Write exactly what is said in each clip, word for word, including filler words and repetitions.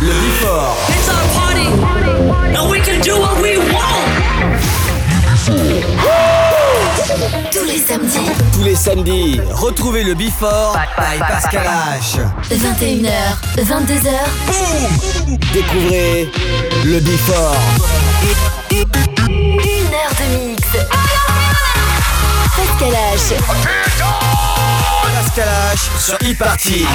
Le Before. It's our party, and we can do what we want. Tous les samedis. Tous les samedis, retrouvez le Before by Pascal H. vingt et une heures, vingt-deux heures. Boum. Découvrez le Before. Une heure de mix. Pascal H. Pascal H sur e-party.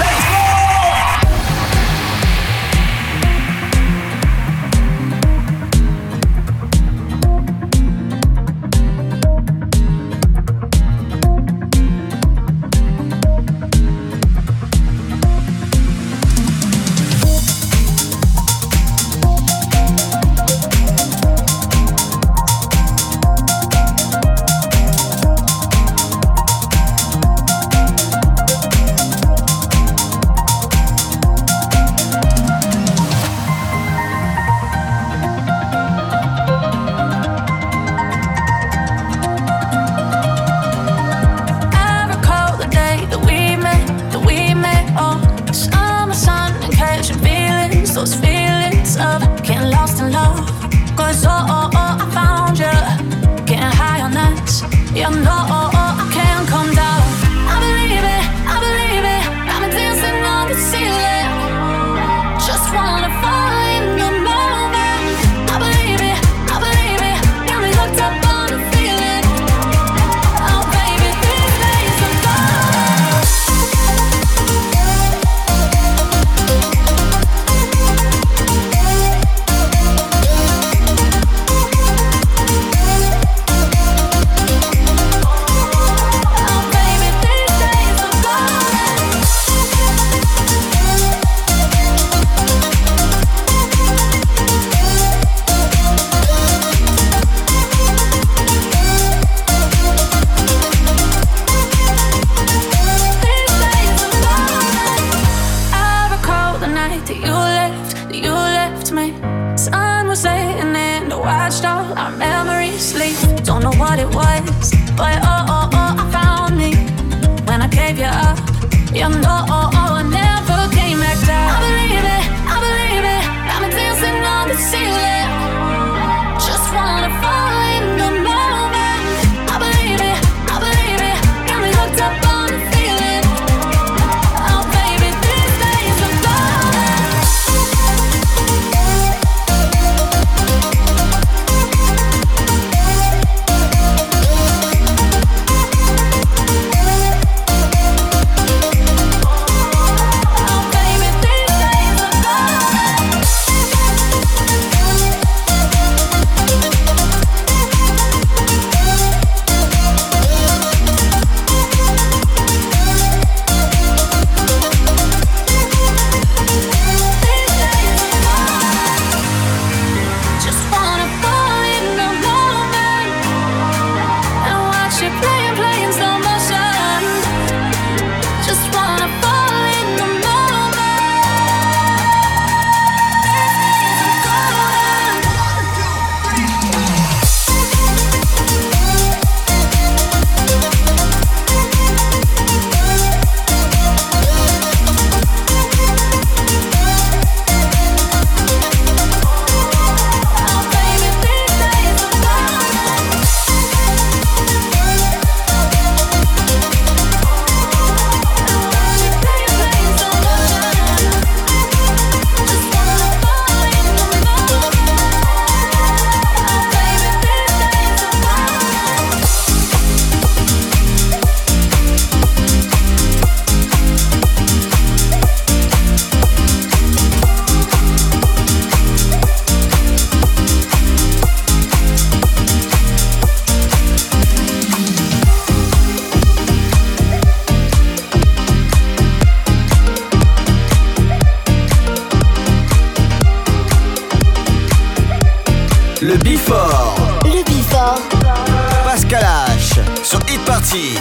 Le Before. Le Before. Pascal H sur Hit Party.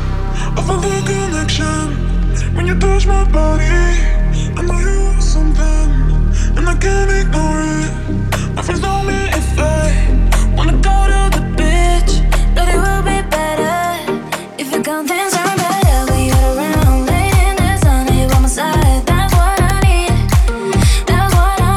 I feel the connection when you touch my body. I know you want something, and I can't ignore it. My friends know me if I wanna go to the beach. But it will be better if you come things are better. We got around late in the sun, you on my side. That's what I need. That's what I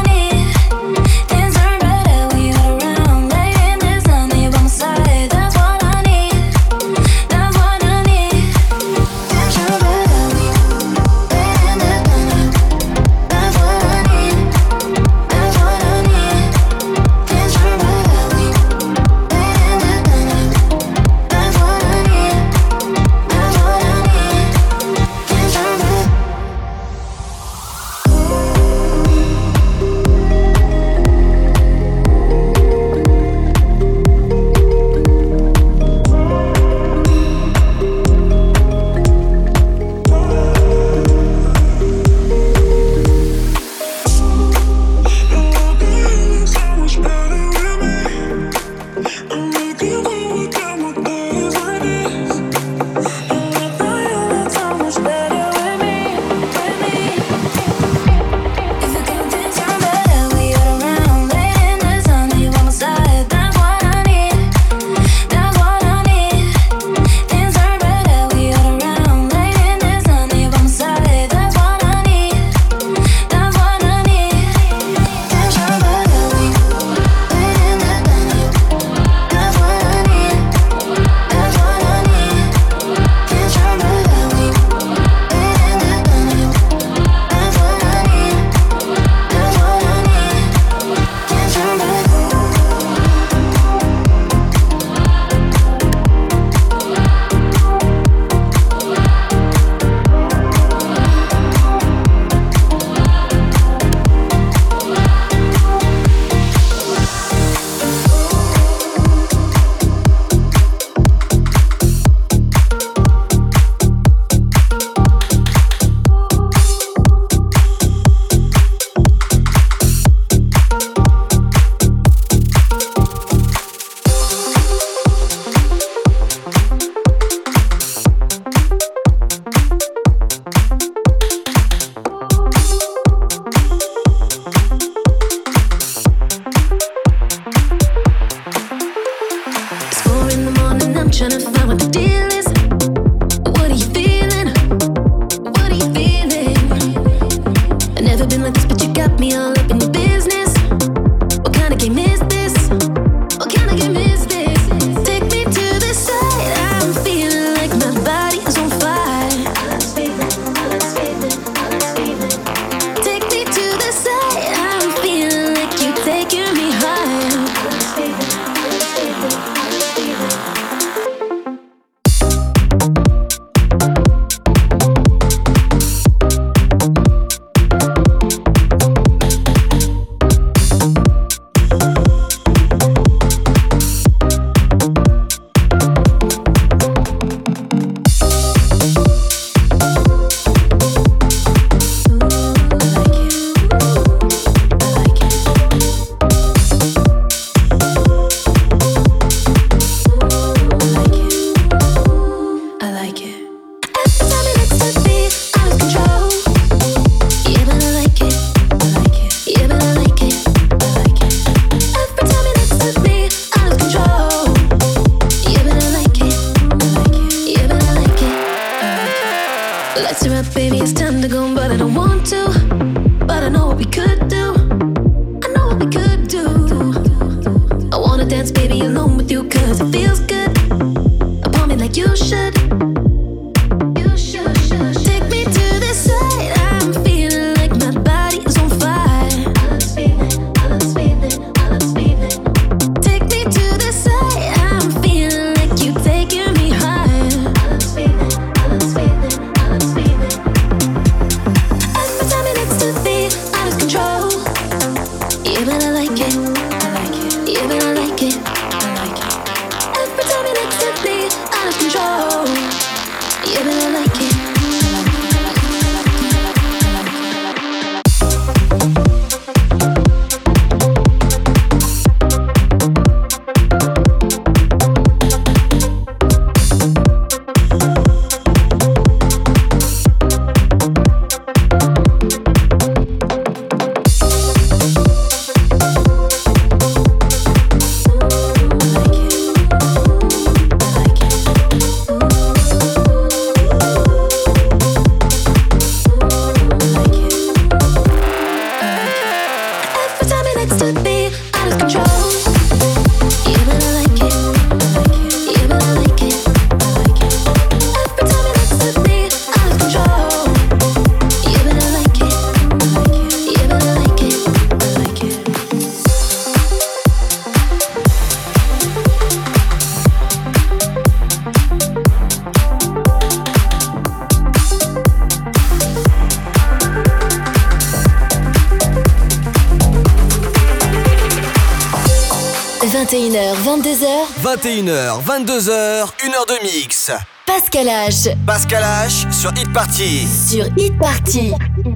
vingt et une heures, vingt-deux heures. vingt et une heures, vingt-deux heures, une heure de mix. Pascal H. Pascal H sur Hit Party. Sur Hit Party.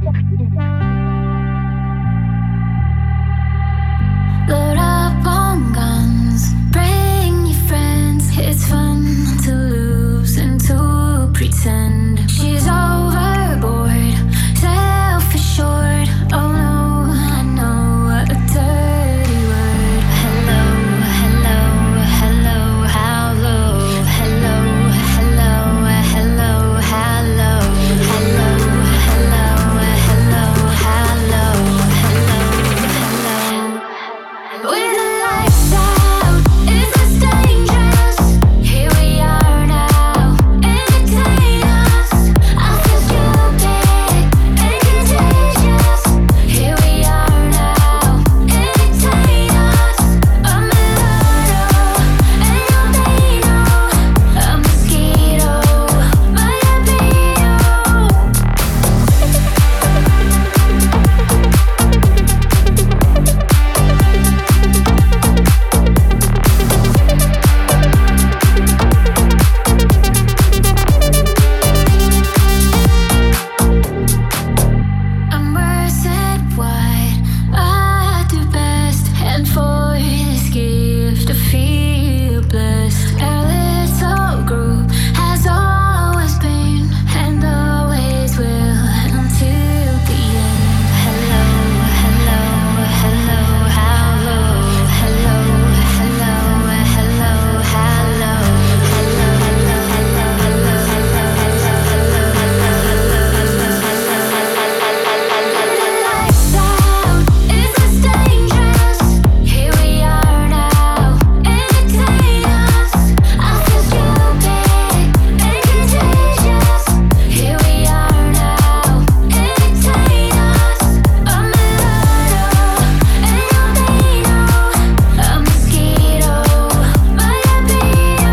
Load up on guns, bring your friends. It's fun to lose and to pretend. She's overboard, self-assured. Oh no, I know a dirty word. Hello, hello, hello, how low. Hello, hello, hello, how low. Hello, hello, hello, how low. Hello, hello. With the lights out, is this dangerous? Here we are now, entertain us. I feel stupid and contagious. Here we are now, entertain us. A murder and your Dino, a mosquito, my libido. I'm worth it wide. I do best, and for this gift I feel blessed. Our little group has always been and always will until the end. Hello, hello, hello, how low. Hello, hello, hello, how low. Hello, hello, hello, hello, lights out, is this dangerous? Here we are now, entertain us. I feel stupid and contagious. Here we are now, entertain us. A murder and your Dino, a mosquito, my libido.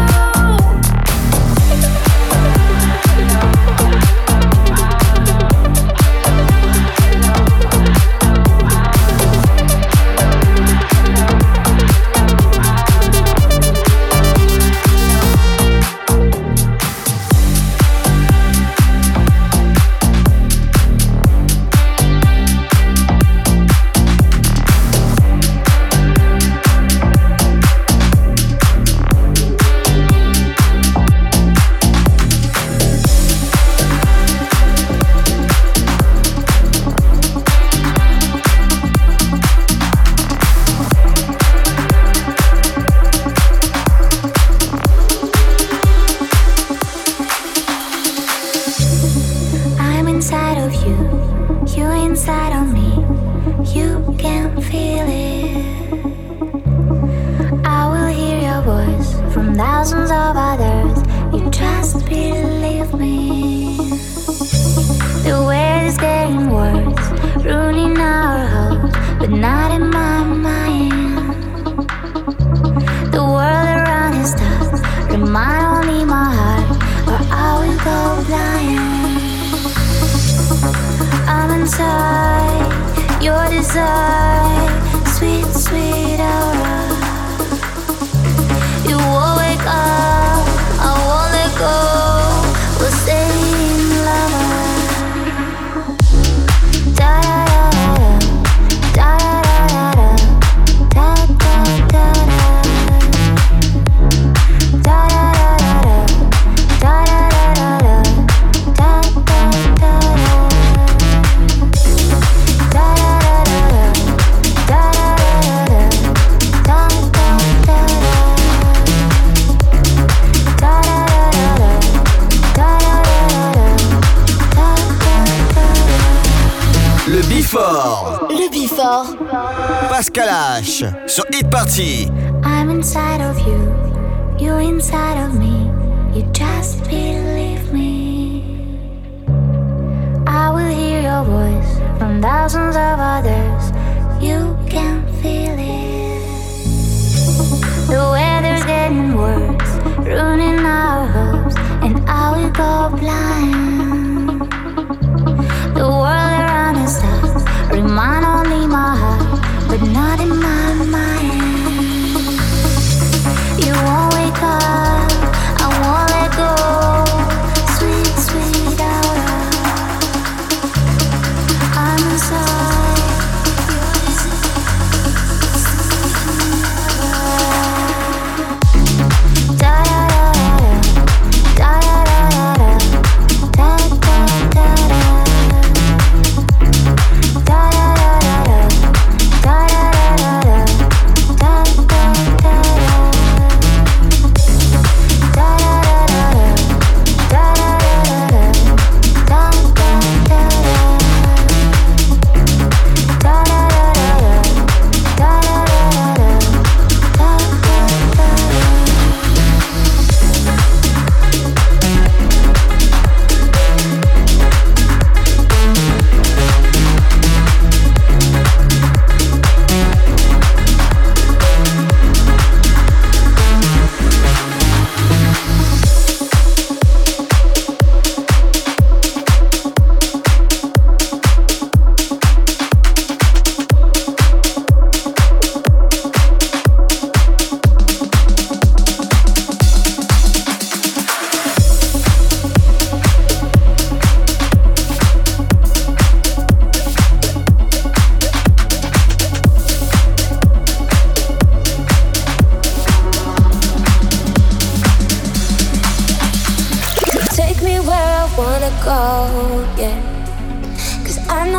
I'm inside of you, you inside of me. You can feel it. I will hear your voice from thousands of others. You just believe me. The world is getting worse, ruining our hopes, but not in my mind. The world around is tough, remind only my heart, or I will go blind. I'm inside your desire, sweet, sweet aura. You won't wake up, I won't let go. We'll stay in love. Da da da da da da da da da da da da da da da da da. Le Before. Le Before. Pascal H sur Hit Party. I'm inside of you, you inside of me. You just believe me. I will hear your voice from thousands of others. You can feel it. The weather's getting worse, ruining our hopes, and I will go blind. The world around us tough, remind only my heart, but not in my mind.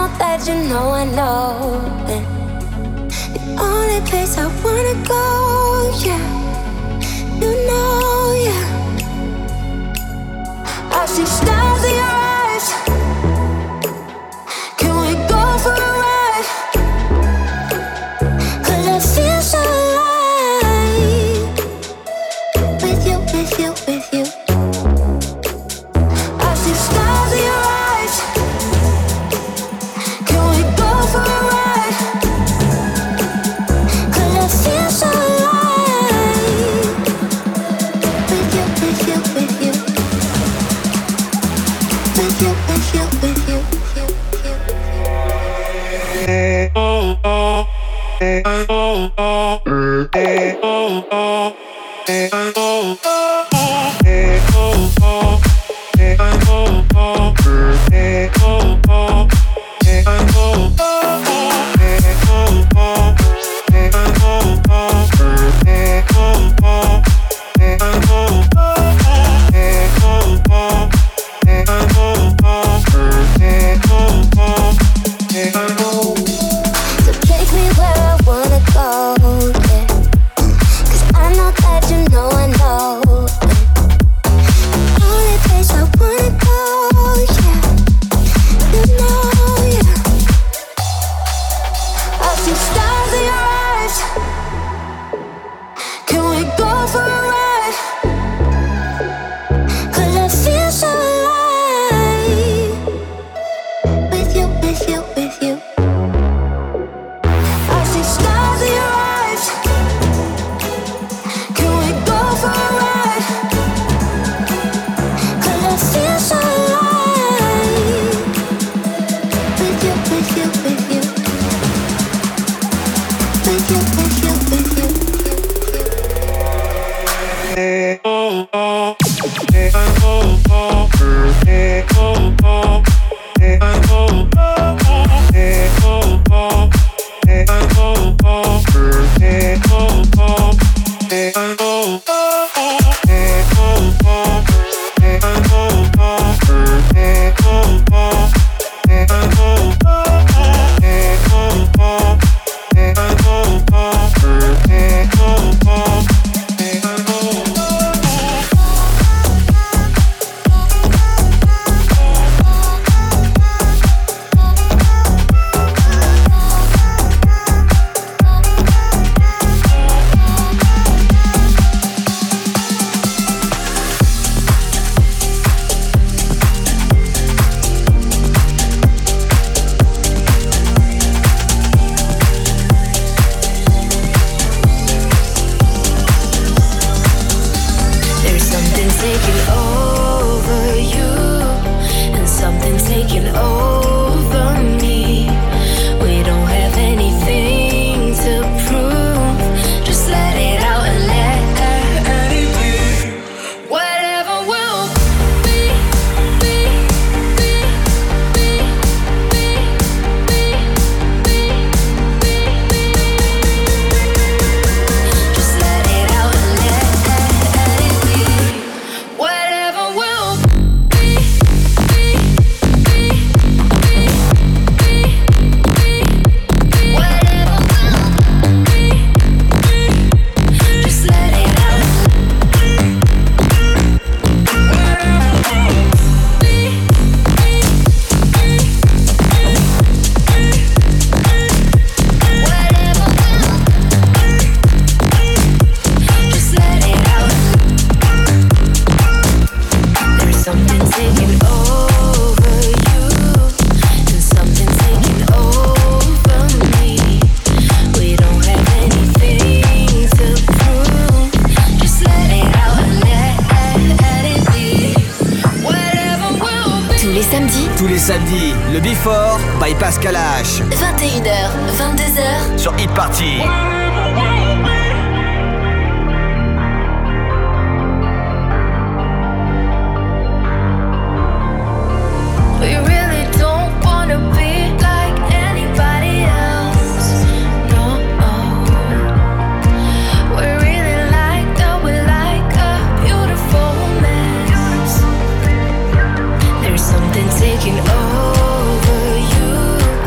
know that you know I know that the only place I wanna go, yeah, you know, yeah. I see stars in your eyes. Can we go for a ride? 'Cause I feel so alive with you, with you, with you. I see stars in your eyes. Can we go for a ride? 'Cause I feel so alive with you, with you, with you. With you, with you, with you, Samedi, le Before by Pascal H. vingt et une heures, vingt-deux heures sur Hit Party. Taking over you.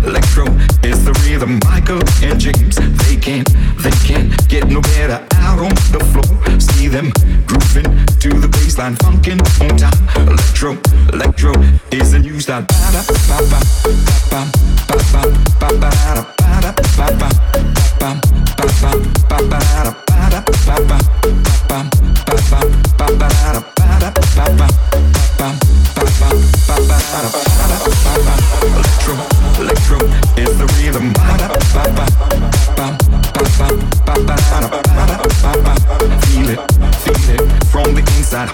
electro is the rhythm. Michael and James, they can't, they can't get no better out on the floor. See them grooving to the baseline, funkin' on time. Electro, electro is the new style. Ba ba ba ba ba ba ba ba ba ba ba ba ba ba ba ba Electro, electro is the rhythm. Feel it, feel it from the inside.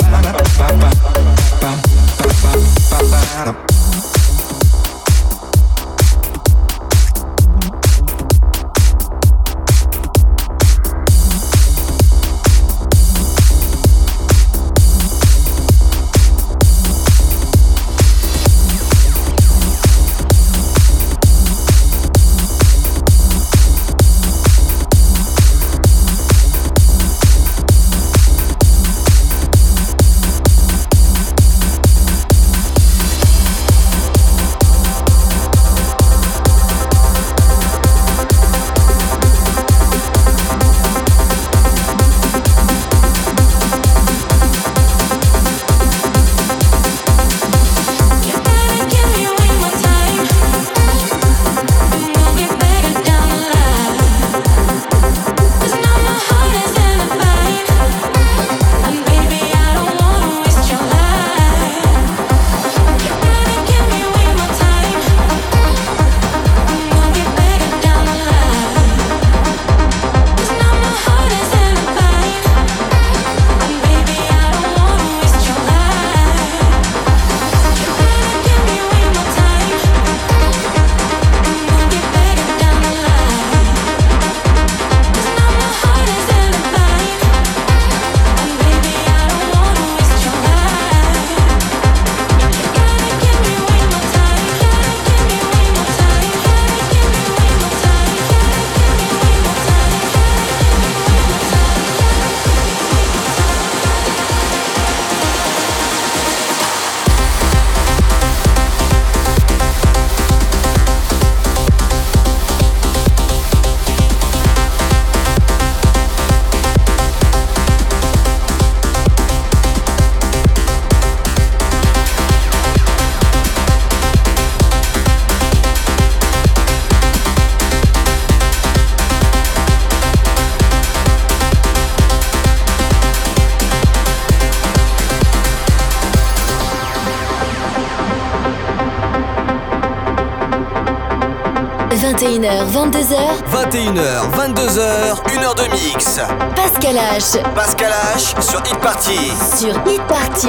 vingt et une heures, vingt-deux heures. vingt et une heures, vingt-deux heures, une heure de mix. Pascal H. Pascal H sur Hit Party. Sur Hit Party.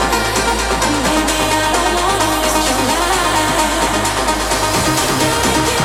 Baby, I don't wanna waste your life.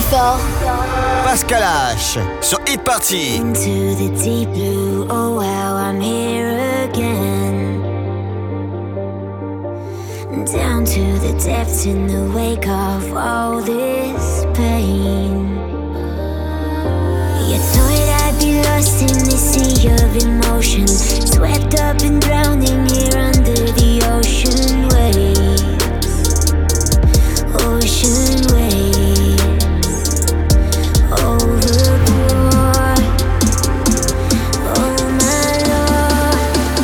fort. Pascal H sur Hit Party. Into the deep blue, oh wow, I'm here again. Down to the depths in the wake of all this pain. You thought I'd be lost in the sea of emotion, swept up and drowning here under the ocean waves. Ocean waves. Overboard. Oh my Lord.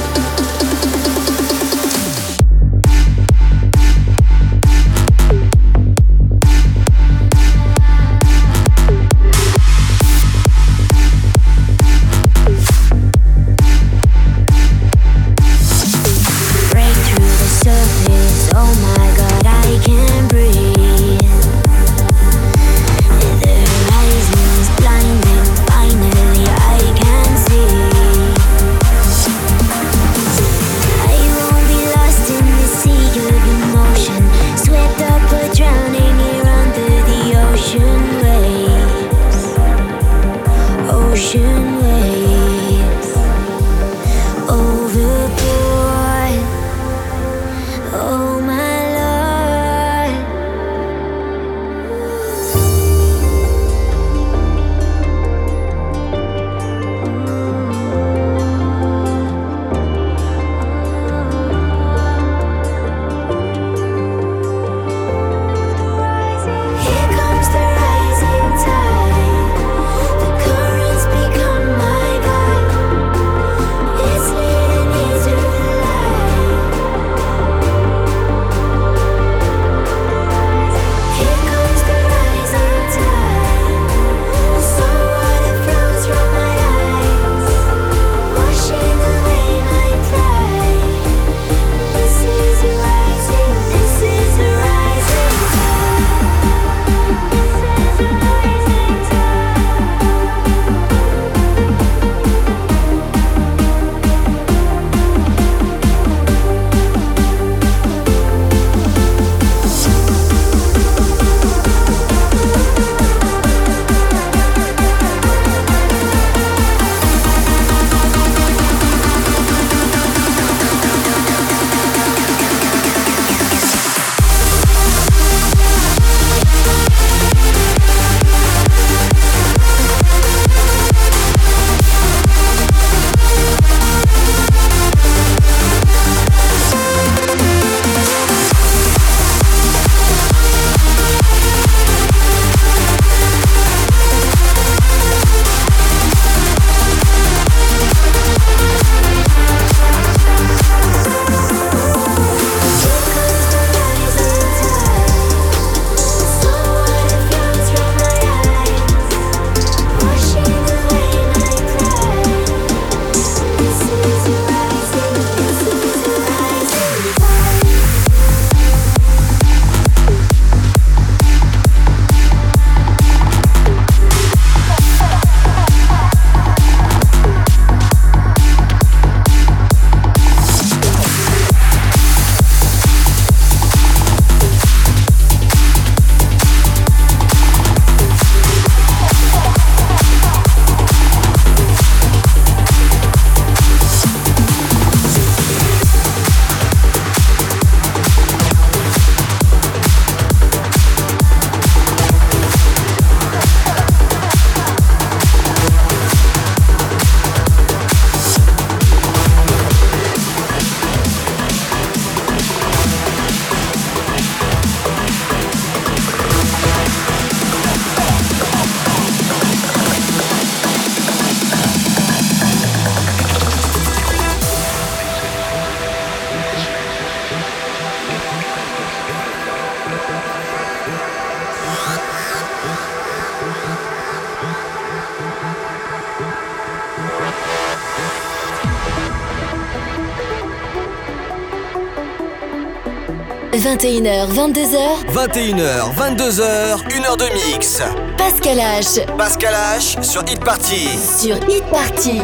vingt et une heures, vingt-deux heures. vingt et une heures, vingt-deux heures, une heure de mix. Pascal H. Pascal H sur Hit Party. Sur Hit Party.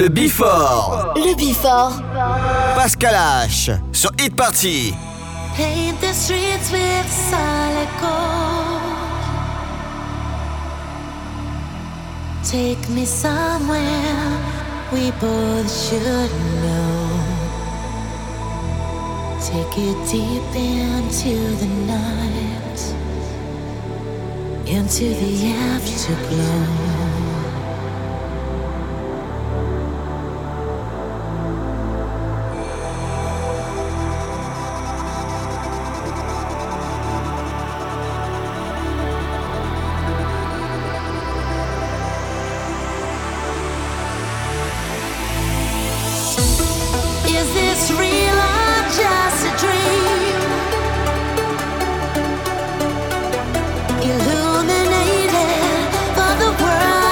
Le Before. Le Before. Pascal H sur Hit Party. Paint the streets with solid gold. Take me somewhere we both should know. Take it deep into the night, into the afterglow. Illuminated for the world.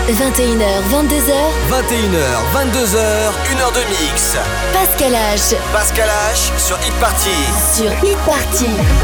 vingt et une heures, vingt-deux heures. vingt et une heures, vingt-deux heures, une heure de mix. Pascal H. Pascal H sur Hit Party. Sur Hit Party.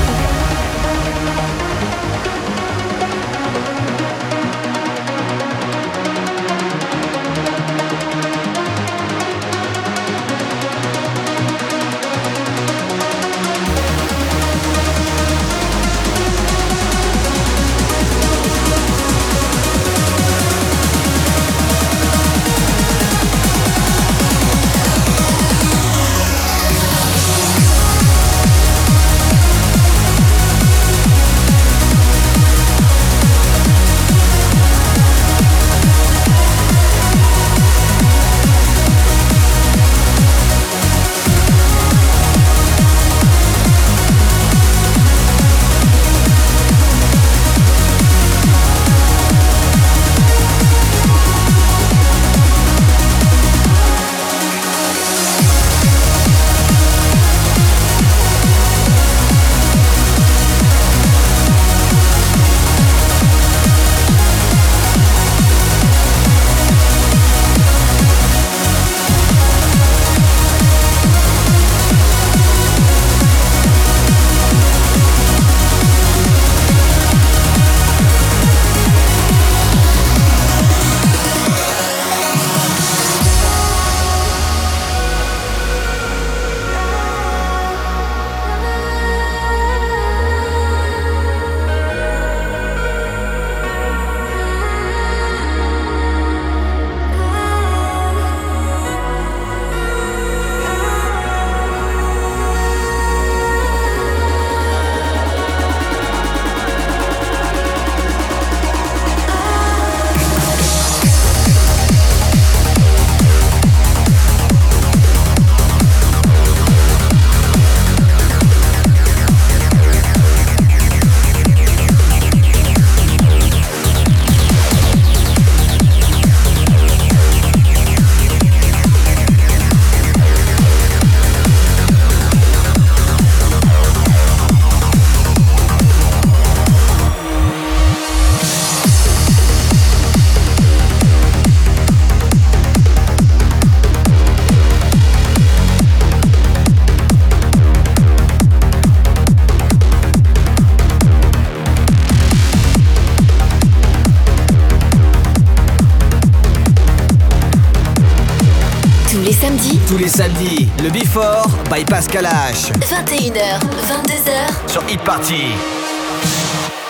Tous les samedis, le Before by Pascal H. vingt et une heures, vingt-deux heures. Sur Hit Party.